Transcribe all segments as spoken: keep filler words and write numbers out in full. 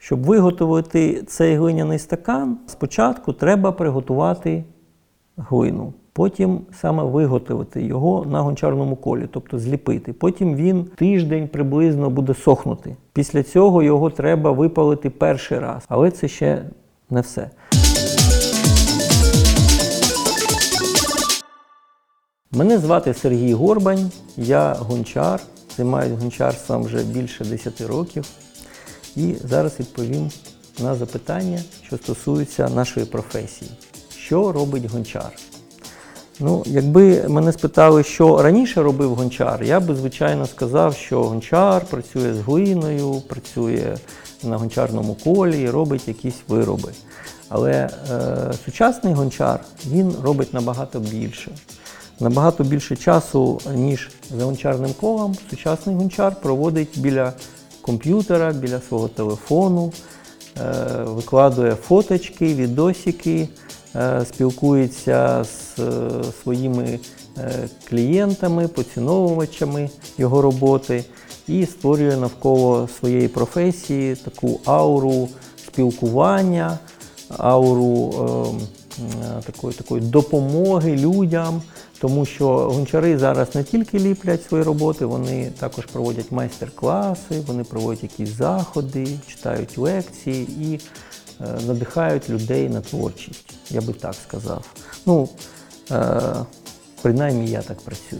Щоб виготовити цей глиняний стакан, спочатку треба приготувати глину. Потім саме виготовити його на гончарному колі, тобто зліпити. Потім він тиждень приблизно буде сохнути. Після цього його треба випалити перший раз. Але це ще не все. Мене звати Сергій Горбань, я гончар, займаюся гончарством вже більше десяти років. І зараз відповім на запитання, що стосуються нашої професії. Що робить гончар? Ну, якби мене спитали, що раніше робив гончар, я би, звичайно, сказав, що гончар працює з глиною, працює на гончарному колі і робить якісь вироби. Але е, сучасний гончар, він робить набагато більше. Набагато більше часу, ніж за гончарним колом, сучасний гончар проводить біля комп'ютера, біля свого телефону, е, викладує фоточки, відосики, е, спілкується з е, своїми е, клієнтами, поціновувачами його роботи і створює навколо своєї професії таку ауру спілкування, ауру е, такої, такої допомоги людям. Тому що гончари зараз не тільки ліплять свої роботи, вони також проводять майстер-класи, вони проводять якісь заходи, читають лекції і е, надихають людей на творчість, я би так сказав. Ну, е, принаймні я так працюю.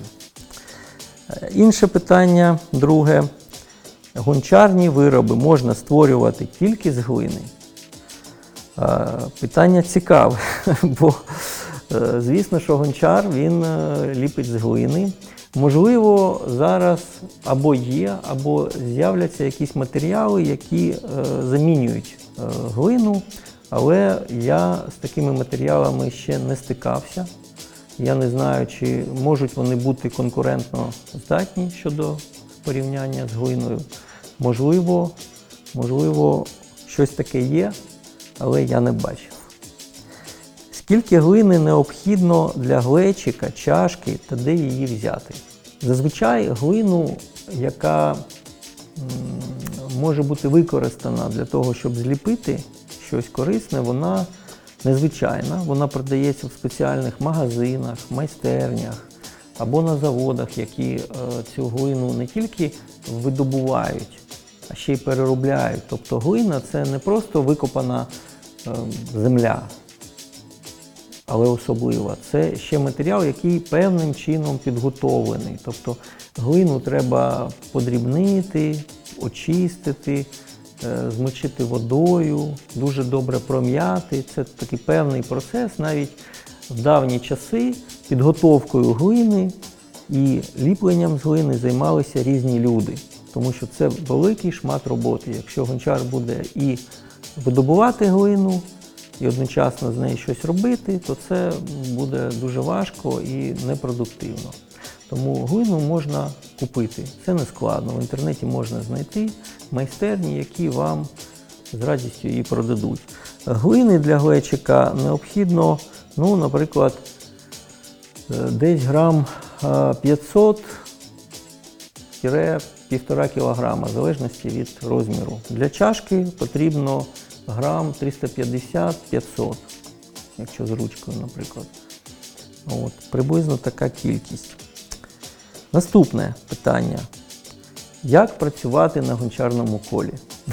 Е, інше питання, друге. Гончарні вироби можна створювати тільки з глини? Е, питання цікаве, бо звісно, що гончар, він ліпить з глини. Можливо, зараз або є, або з'являться якісь матеріали, які е, замінюють е, глину, але я з такими матеріалами ще не стикався. Я не знаю, чи можуть вони бути конкурентно здатні щодо порівняння з глиною. Можливо, можливо, щось таке є, але я не бачив. Скільки глини необхідно для глечика, чашки та де її взяти? Зазвичай глину, яка може бути використана для того, щоб зліпити щось корисне, вона незвичайна. Вона продається в спеціальних магазинах, майстернях або на заводах, які цю глину не тільки видобувають, а ще й переробляють. Тобто глина – це не просто викопана земля, але особлива. Це ще матеріал, який певним чином підготовлений. Тобто глину треба подрібнити, очистити, змочити водою, дуже добре пром'яти. Це такий певний процес. Навіть в давні часи підготовкою глини і ліпленням з глини займалися різні люди. Тому що це великий шмат роботи. Якщо гончар буде і видобувати глину, і одночасно з нею щось робити, то це буде дуже важко і непродуктивно. Тому глину можна купити. Це не складно. В інтернеті можна знайти майстерні, які вам з радістю її продадуть. Глини для глечика необхідно, ну, наприклад, десь грам п'ятсот - півтора кілограма, в залежності від розміру. Для чашки потрібно грам триста п'ятдесят - п'ятсот, якщо з ручкою, наприклад. От, приблизно така кількість. Наступне питання. Як працювати на гончарному колі?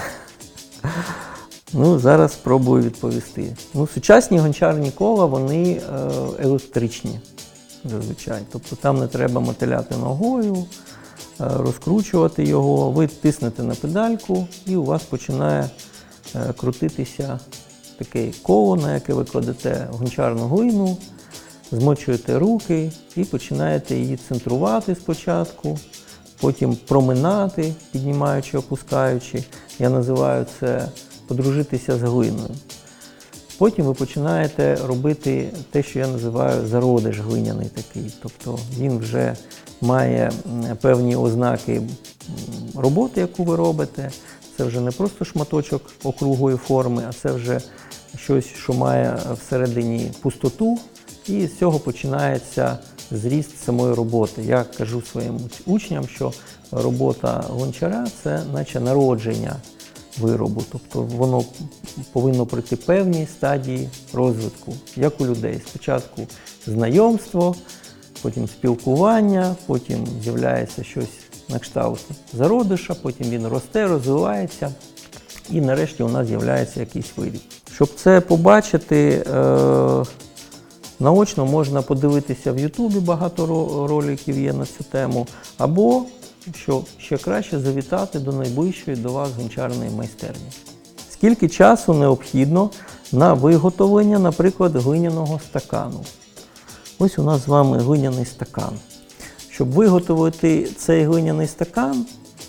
Ну, зараз спробую відповісти. Ну, сучасні гончарні кола, вони е, електричні, зазвичай. Тобто там не треба мотиляти ногою, е, розкручувати його, ви тиснете на педальку і у вас починає е, крутитися таке коло, на яке ви кладете гончарну глину, змочуєте руки і починаєте її центрувати спочатку, потім проминати, піднімаючи, опускаючи. Я називаю це подружитися з глиною. Потім ви починаєте робити те, що я називаю зародиш глиняний такий. Тобто він вже має певні ознаки роботи, яку ви робите. Це вже не просто шматочок округлої форми, а це вже щось, що має всередині пустоту. І з цього починається зріст самої роботи. Я кажу своїм учням, що робота гончара – це наче народження виробу. Тобто воно повинно пройти певні стадії розвитку, як у людей. Спочатку знайомство, потім спілкування, потім з'являється щось на кшталт зародиша, потім він росте, розвивається і нарешті у нас з'являється якийсь виріб. Щоб це побачити, е наочно можна подивитися в Ютубі, багато роликів є на цю тему, або, що ще краще, завітати до найближчої до вас гончарної майстерні. Скільки часу необхідно на виготовлення, наприклад, глиняного стакану? Ось у нас з вами глиняний стакан. Щоб виготовити цей глиняний стакан,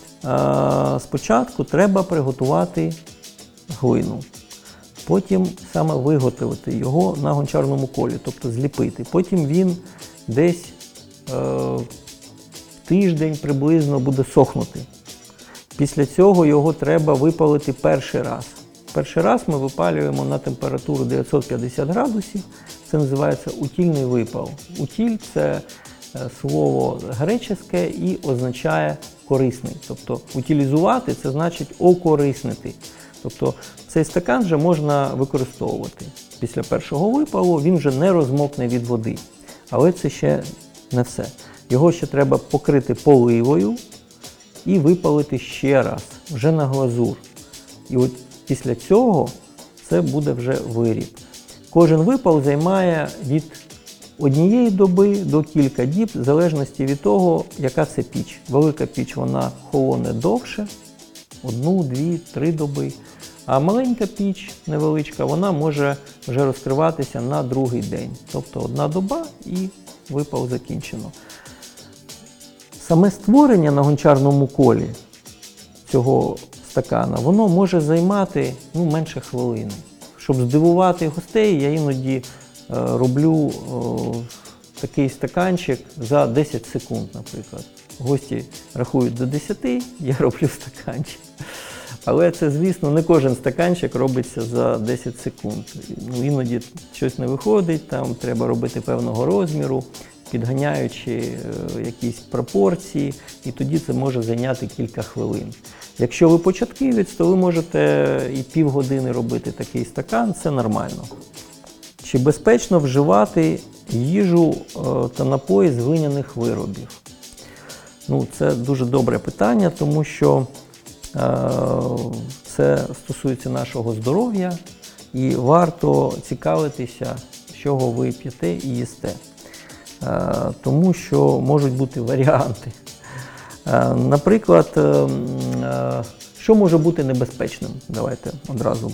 спочатку треба приготувати глину. Потім саме виготовити його на гончарному колі, тобто зліпити. Потім він десь е, тиждень приблизно буде сохнути. Після цього його треба випалити перший раз. Перший раз ми випалюємо на температуру дев'ятсот п'ятдесят градусів. Це називається утільний випал. Утіль – це слово греческе і означає корисний. Тобто утилізувати – це значить окориснити. Тобто цей стакан вже можна використовувати. Після першого випалу він вже не розмокне від води. Але це ще не все. Його ще треба покрити поливою і випалити ще раз, вже на глазур. І от після цього це буде вже виріб. Кожен випал займає від однієї доби до кілька діб, в залежності від того, яка це піч. Велика піч, вона холоне довше, одну, дві, три доби. А маленька піч, невеличка, вона може вже розкриватися на другий день. Тобто одна доба і випал закінчено. Саме створення на гончарному колі цього стакана, воно може займати ну, менше хвилини. Щоб здивувати гостей, я іноді е, роблю е, такий стаканчик за десять секунд, наприклад. Гості рахують до десяти, я роблю стаканчик. Але це, звісно, не кожен стаканчик робиться за десять секунд. Ну, іноді щось не виходить, там треба робити певного розміру, підганяючи е, якісь пропорції, і тоді це може зайняти кілька хвилин. Якщо ви початківець, то ви можете і півгодини робити такий стакан, це нормально. Чи безпечно вживати їжу е, та напої з глиняних виробів? Ну, це дуже добре питання, тому що це стосується нашого здоров'я і варто цікавитися, з чого ви п'єте і їсте. Тому що можуть бути варіанти. Наприклад, що може бути небезпечним? Давайте одразу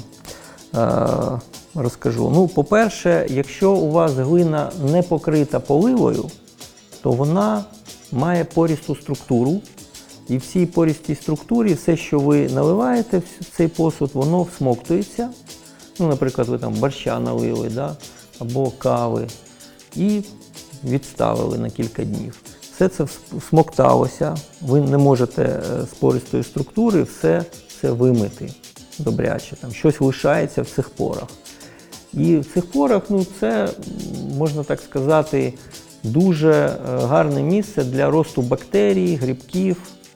розкажу. Ну, по-перше, якщо у вас глина не покрита поливою, то вона має пористу структуру. І в цій пористій структурі все, що ви наливаєте в цей посуд, воно всмоктується. Ну, наприклад, ви там борща налили, да? Або кави, і відставили на кілька днів. Все це всмокталося, ви не можете з пористої структури все це вимити добряче. Там щось лишається в цих порах. І в цих порах, ну, це, можна так сказати, дуже гарне місце для росту бактерій, грибків,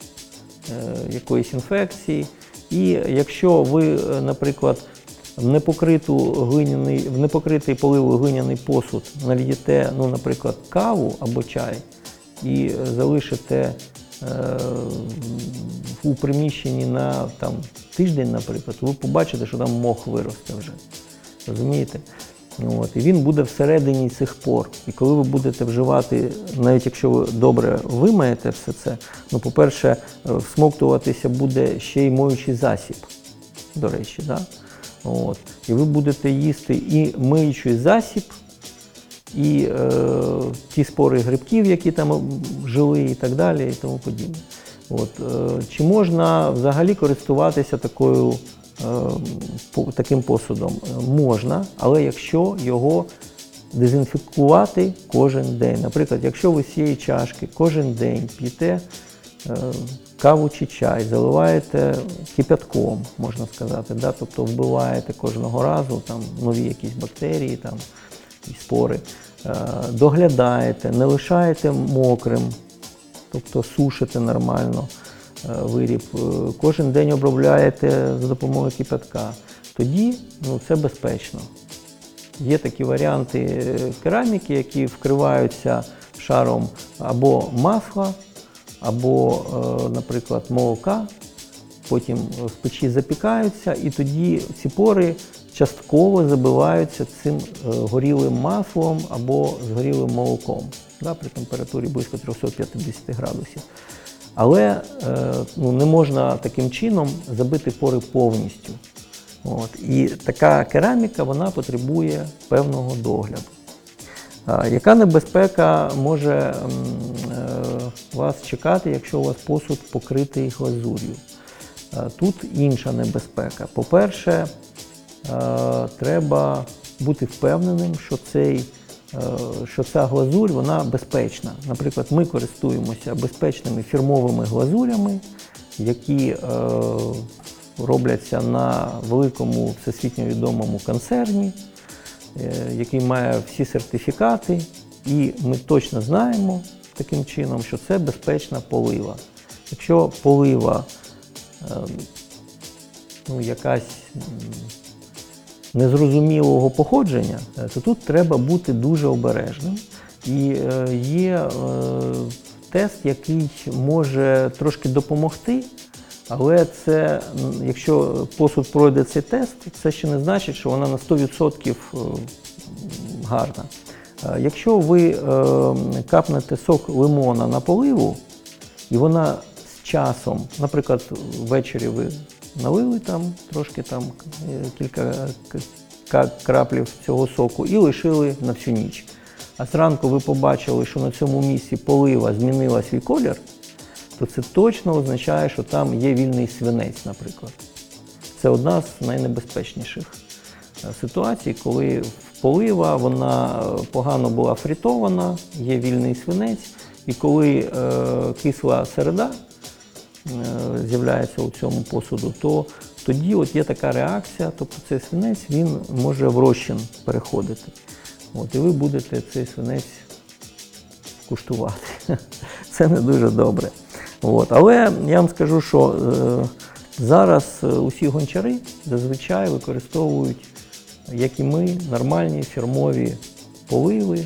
якоїсь інфекції. І якщо ви, наприклад, в непокриту глиняний, в непокритий поливою глиняний посуд нальєте, ну, наприклад, каву або чай і залишите е, у приміщенні на там, тиждень, наприклад, ви побачите, що там мох виросте вже. Розумієте? От, і він буде всередині цих пор. І коли ви будете вживати, навіть якщо ви добре вимаєте все це, ну, по-перше, всмоктуватися буде ще й моючий засіб, до речі. Да? От. І ви будете їсти і миючий засіб, і е, ті спори грибків, які там жили, і так далі, і тому подібне. От. Е, чи можна взагалі користуватися такою таким посудом? Можна, але якщо його дезінфікувати кожен день. Наприклад, якщо ви з цієї чашки кожен день п'єте каву чи чай, заливаєте кипятком, можна сказати, да? Тобто вбиваєте кожного разу там, нові якісь бактерії там, і спори, доглядаєте, не лишаєте мокрим, тобто сушите нормально, виріб, кожен день обробляєте за допомогою кипятка, тоді ну, це безпечно. Є такі варіанти кераміки, які вкриваються шаром або масла, або, наприклад, молока, потім в печі запікаються, і тоді ці пори частково забиваються цим горілим маслом або згорілим молоком, да, при температурі близько триста п'ятдесят градусів. Але ну, не можна таким чином забити пори повністю. От. І така кераміка, вона потребує певного догляду. А, яка небезпека може м, е, вас чекати, якщо у вас посуд покритий глазур'ю? А, тут інша небезпека. По-перше, е, треба бути впевненим, що, цей, е, що ця глазурь вона безпечна. Наприклад, ми користуємося безпечними фірмовими глазурями, які е, робляться на великому всесвітньо відомому концерні, який має всі сертифікати, і ми точно знаємо таким чином, що це безпечна полива. Якщо полива ну, якась незрозумілого походження, то тут треба бути дуже обережним. І є тест, який може трошки допомогти. Але це, якщо посуд пройде цей тест, це ще не значить, що вона на сто відсотків гарна. Якщо ви капнете сок лимона на поливу, і вона з часом, наприклад, ввечері ви налили там трошки там кілька краплів цього соку і лишили на всю ніч. А зранку ви побачили, що на цьому місці полива змінила свій колір, то це точно означає, що там є вільний свинець, наприклад. Це одна з найнебезпечніших ситуацій, коли полива, вона погано була фрітована, є вільний свинець, і коли е, кисла середа е, з'являється у цьому посуду, то тоді от є така реакція, тобто цей свинець, він може в розчин переходити. От, і ви будете цей свинець куштувати. Це не дуже добре. От. Але я вам скажу, що е, зараз усі гончари зазвичай використовують, як і ми, нормальні фірмові поливи.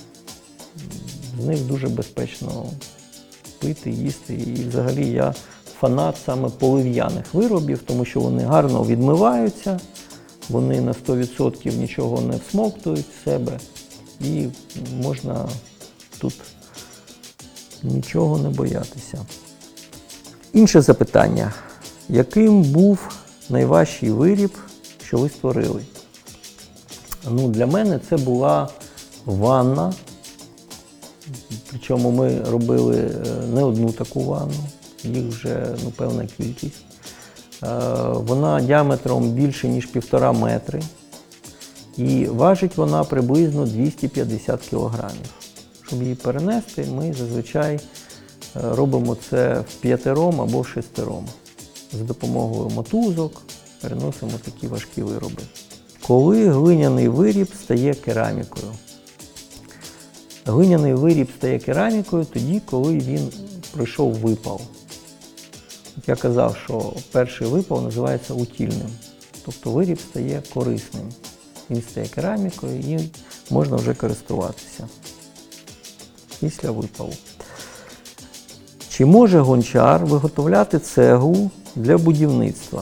З них дуже безпечно пити, їсти. І взагалі я фанат саме полив'яних виробів, тому що вони гарно відмиваються, вони на сто відсотків нічого не всмоктують в себе і можна тут нічого не боятися. Інше запитання. Яким був найважчий виріб, що ви створили? Ну, для мене це була ванна. Причому ми робили не одну таку ванну, їх вже ну, певна кількість. Вона діаметром більше, ніж півтора метри. І важить вона приблизно двісті п'ятдесят кілограмів. Щоб її перенести, ми зазвичай робимо це в п'ятером або в шестером. За допомогою мотузок переносимо такі важкі вироби. Коли глиняний виріб стає керамікою? Глиняний виріб стає керамікою тоді, коли він пройшов випал. Я казав, що перший випал називається утільним. Тобто виріб стає корисним. Він стає керамікою і можна вже користуватися після випалу. Чи може гончар виготовляти цеглу для будівництва?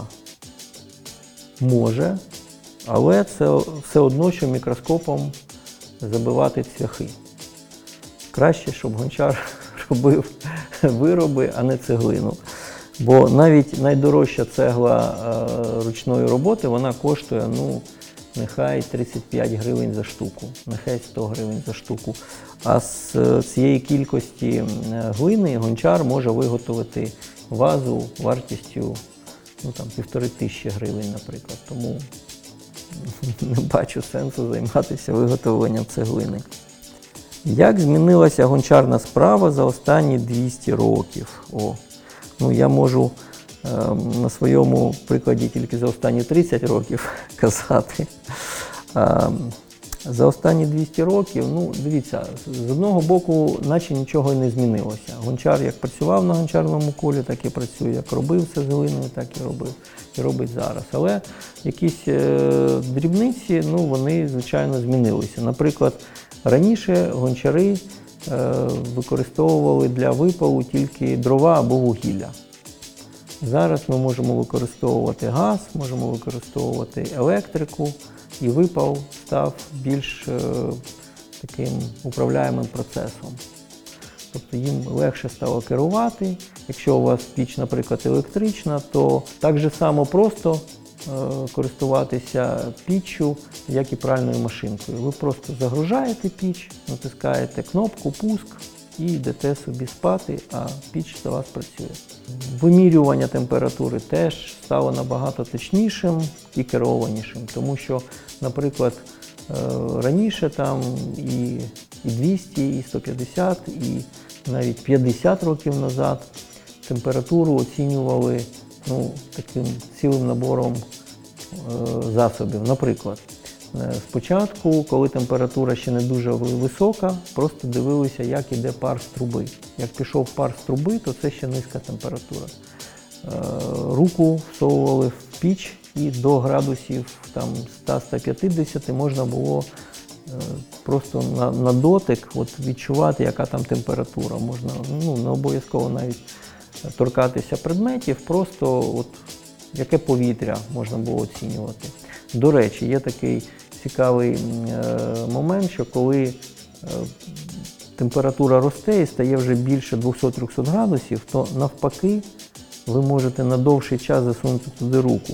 Може, але це все одно, що мікроскопом забивати цвяхи. Краще, щоб гончар робив вироби, а не цеглину. Бо навіть найдорожча цегла е, ручної роботи, вона коштує, ну, нехай тридцять п'ять гривень за штуку, нехай сто гривень за штуку. А з цієї кількості глини гончар може виготовити вазу вартістю ну, там, півтори тисячі гривень, наприклад. Тому не бачу сенсу займатися виготовленням цеглини. Як змінилася гончарна справа за останні двісті років? О, ну, я можу е, на своєму прикладі тільки за останні тридцять років казати. Е, За останні двісті років, ну, дивіться, з одного боку, наче нічого і не змінилося. Гончар як працював на гончарному колі, так і працює, як робив це з глиною, так і робив, і робить зараз. Але якісь е, дрібниці, ну, вони, звичайно, змінилися. Наприклад, раніше гончари е, використовували для випалу тільки дрова або вугілля. Зараз ми можемо використовувати газ, можемо використовувати електрику, і випал став більш е, таким управляємим процесом. Тобто їм легше стало керувати. Якщо у вас піч, наприклад, електрична, то так же само просто е, користуватися піччю, як і пральною машинкою. Ви просто загружаєте піч, натискаєте кнопку «Пуск» і йдете собі спати, а піч за вас працює. Вимірювання температури теж стало набагато точнішим і керованішим, тому що, наприклад, раніше там і, і двісті, і сто п'ятдесят, і навіть п'ятдесят років назад температуру оцінювали, ну, таким цілим набором е, засобів. Наприклад, спочатку, коли температура ще не дуже висока, просто дивилися, як іде пар з труби. Як пішов пар з труби, то це ще низька температура. Руку всовували в піч і до градусів сто - сто п'ятдесят можна було просто на, на дотик от, відчувати, яка там температура. Можна, ну, не обов'язково навіть торкатися предметів, просто от, яке повітря можна було оцінювати. До речі, є такий цікавий е, момент, що коли е, температура росте і стає вже більше двісті - триста градусів, то навпаки ви можете на довший час засунути туди руку.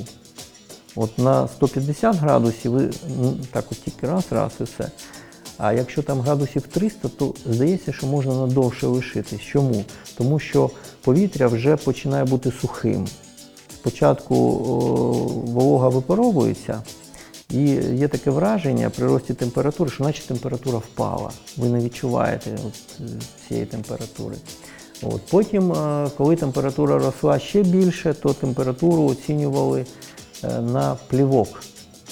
От на сто п'ятдесят градусів ви так от тільки раз, раз і все. А якщо там градусів триста, то здається, що можна надовше лишитись. Чому? Тому що повітря вже починає бути сухим. Спочатку о, волога випаровується, і є таке враження при рості температури, що наче температура впала. Ви не відчуваєте от цієї температури. От. Потім, коли температура росла ще більше, то температуру оцінювали на плівок.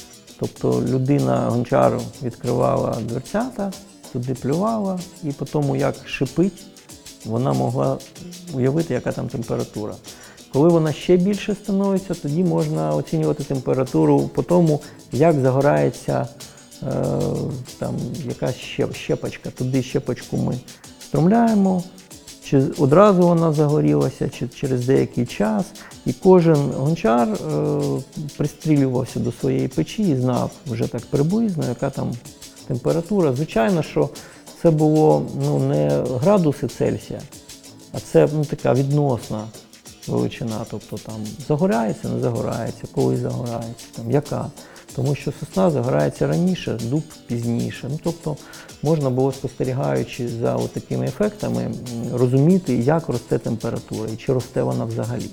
Тобто людина, гончар, відкривала дверцята, туди плювала, і по тому, як шипить, вона могла уявити, яка там температура. Коли вона ще більше становиться, тоді можна оцінювати температуру по тому, як загорається е, там, якась щепочка. Туди щепочку ми струмляємо, чи одразу вона загорілася, чи через деякий час. І кожен гончар е, пристрілювався до своєї печі і знав вже так приблизно, яка там температура. Звичайно, що це було, ну, не градуси Цельсія, а це, ну, така відносна величина, тобто там загорається, не загорається, коли загорається, там, яка. Тому що сосна загорається раніше, дуб пізніше. Ну, тобто можна було, спостерігаючи за такими ефектами, розуміти, як росте температура і чи росте вона взагалі.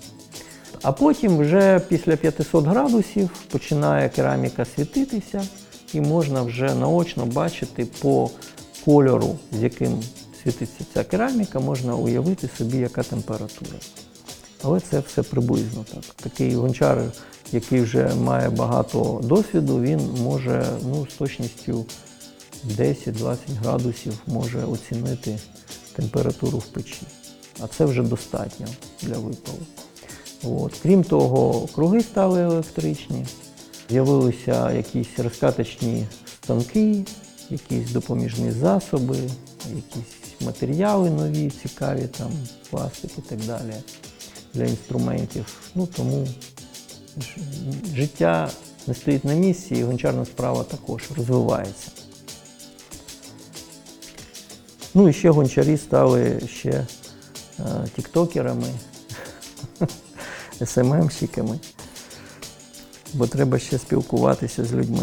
А потім вже після п'ятисот градусів починає кераміка світитися і можна вже наочно бачити по кольору, з яким світиться ця кераміка, можна уявити собі, яка температура. Але це все приблизно так. Такий гончар, який вже має багато досвіду, він може, ну, з точністю десять-двадцять градусів може оцінити температуру в печі. А це вже достатньо для випалу. От. Крім того, круги стали електричні, з'явилися якісь розкаточні станки, якісь допоміжні засоби, якісь матеріали нові, цікаві, там, пластик і так далі, для інструментів. Ну, тому життя не стоїть на місці, і гончарна справа також розвивається. Ну і ще гончарі стали ще е, тіктокерами, ес ем ем-щиками, бо треба ще спілкуватися з людьми.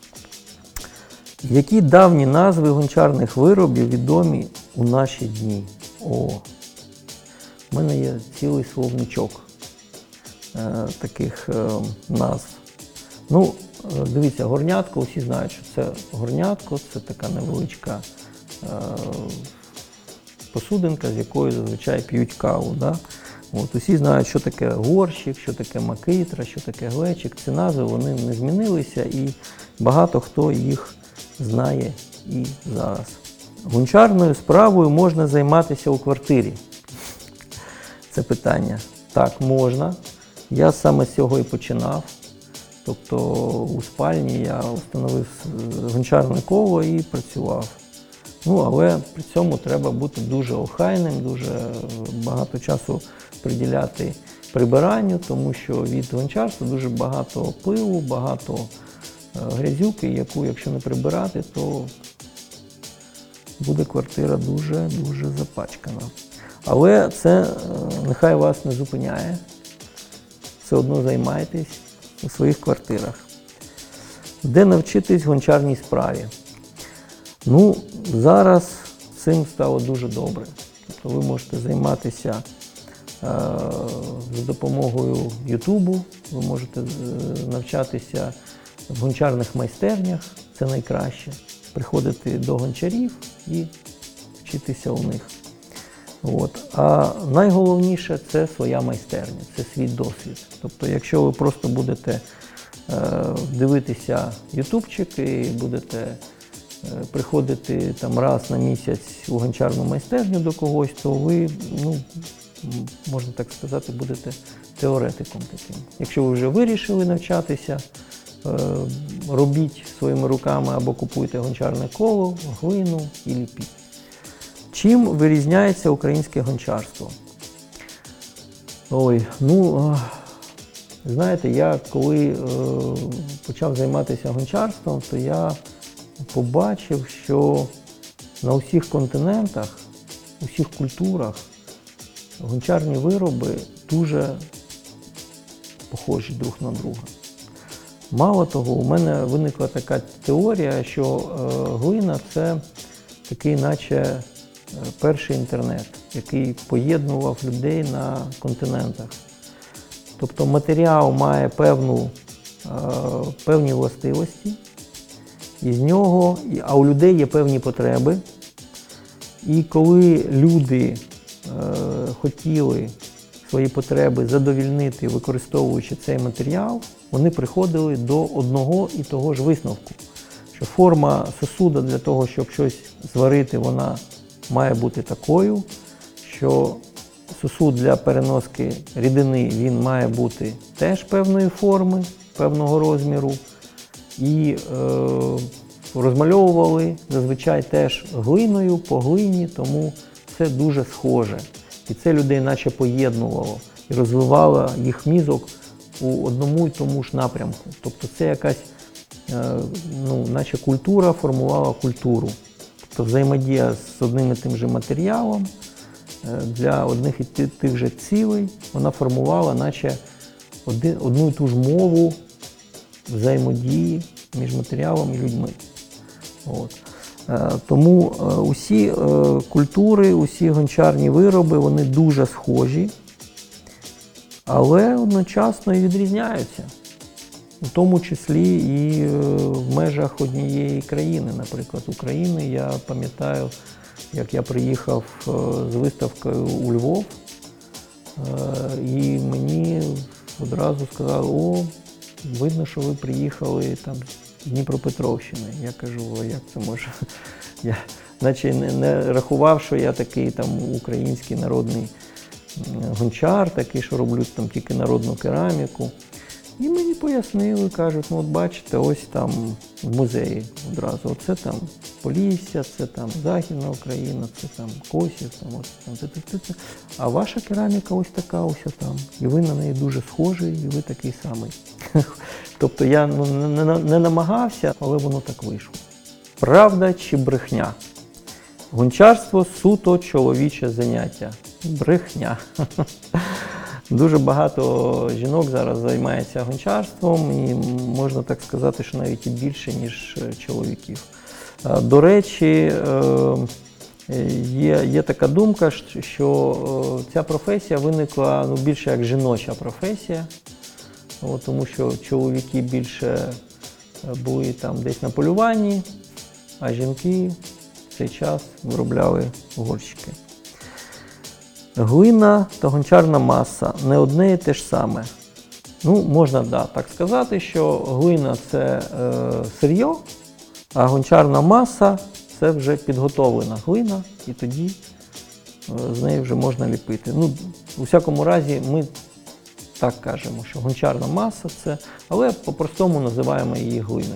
Які давні назви гончарних виробів відомі у наші дні? О, в мене є цілий словничок е, таких е, назв. Ну, е, дивіться, горнятко, усі знають, що це горнятко, це така невеличка е, посудинка, з якої зазвичай п'ють каву. Да? От, усі знають, що таке горщик, що таке макитра, що таке глечик. Ці назви, вони не змінилися, і багато хто їх знає і зараз. Гончарною справою можна займатися у квартирі. Це питання. Так, можна. Я саме з цього і починав. Тобто у спальні я встановив гончарне коло і працював. Ну, але при цьому треба бути дуже охайним, дуже багато часу приділяти прибиранню, тому що від гончарства дуже багато пилу, багато грязюки, яку, якщо не прибирати, то буде квартира дуже-дуже запачкана. Але це нехай вас не зупиняє. Все одно займайтесь у своїх квартирах. Де навчитись гончарній справі? Ну, зараз цим стало дуже добре. Тобто ви можете займатися е, за допомогою Ютубу, ви можете навчатися в гончарних майстернях, це найкраще. Приходити до гончарів і вчитися у них. От. А найголовніше – це своя майстерня, це свій досвід. Тобто, якщо ви просто будете е, дивитися ютубчик і будете е, приходити там раз на місяць у гончарну майстерню до когось, то ви, ну, можна так сказати, будете теоретиком таким. Якщо ви вже вирішили навчатися, е, робіть своїми руками або купуйте гончарне коло, глину і ліпіть. Чим вирізняється українське гончарство? Ой, ну, знаєте, я коли е, почав займатися гончарством, то я побачив, що на усіх континентах, у всіх культурах гончарні вироби дуже похожі друг на друга. Мало того, у мене виникла така теорія, що е, глина – це такий наче перший інтернет, який поєднував людей на континентах. Тобто матеріал має певну, е, певні властивості, і з нього, а у людей є певні потреби. І коли люди е, хотіли свої потреби задовільнити, використовуючи цей матеріал, вони приходили до одного і того ж висновку, що форма сосуда для того, щоб щось зварити, вона має бути такою, що сосуд для переноски рідини, він має бути теж певної форми, певного розміру. І е, розмальовували зазвичай теж глиною, по глині, тому це дуже схоже. І це людей наче поєднувало і розвивало їх мізок у одному і тому ж напрямку. Тобто це якась, е, ну, наче культура формувала культуру. Тобто взаємодія з одним і тим же матеріалом для одних і тих же цілей, вона формувала наче один, одну і ту ж мову взаємодії між матеріалом і людьми. От. Тому усі культури, усі гончарні вироби, вони дуже схожі, але одночасно і відрізняються. У тому числі і в межах однієї країни, наприклад, України. Я пам'ятаю, як я приїхав з виставкою у Львов, і мені одразу сказали: о, видно, що ви приїхали там з Дніпропетровщини. Я кажу: а як це може? Я наче не, не рахував, що я такий там український народний гончар, такий, що роблю там тільки народну кераміку. І мені пояснили, кажуть: ну от бачите, ось там в музеї одразу, оце там Полісся, це там Західна Україна, це там Косів, там ось там це, це, це. А ваша кераміка ось така, ось там. І ви на неї дуже схожі, і ви такий самий. Тобто я, ну, не, не, не намагався, але воно так вийшло. Правда чи брехня? Гончарство – суто чоловіче заняття. Брехня. Дуже багато жінок зараз займається гончарством, і можна так сказати, що навіть і більше, ніж чоловіків. До речі, є, є така думка, що ця професія виникла, ну, більше як жіноча професія, тому що чоловіки більше були там десь на полюванні, а жінки в цей час виробляли горщики. Глина та гончарна маса – не одне і те ж саме. Ну, можна, да, так сказати, що глина – це е, сир'йо, А гончарна маса – це вже підготовлена глина, і тоді з неї вже можна ліпити. Ну, у всякому разі, ми так кажемо, що гончарна маса – це, але по-простому називаємо її глиною.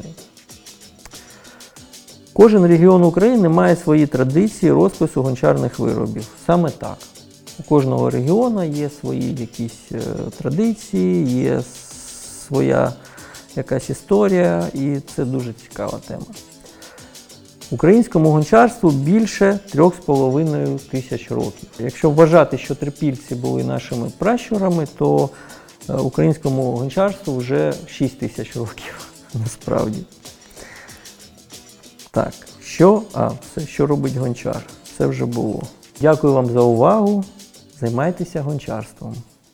Кожен регіон України має свої традиції розпису гончарних виробів. Саме так. У кожного регіону є свої якісь е, традиції, є своя якась історія, і це дуже цікава тема. Українському гончарству більше трьох з половиною тисяч років. Якщо вважати, що трипільці були нашими пращурами, то українському гончарству вже шість тисяч років, насправді. Так, що? А, все, що робить гончар? Це вже було. Дякую вам за увагу. Займайтеся гончарством.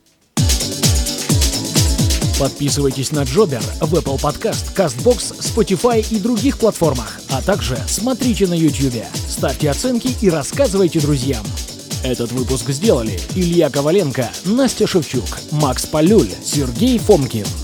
Подписывайтесь на Джобер в Apple Podcast, CastBox, Spotify и других платформах, а также смотрите на YouTube, ставьте оценки и рассказывайте друзьям. Этот выпуск сделали Илья Коваленко, Настя Шевчук, Макс Полюль, Сергей Фомкин.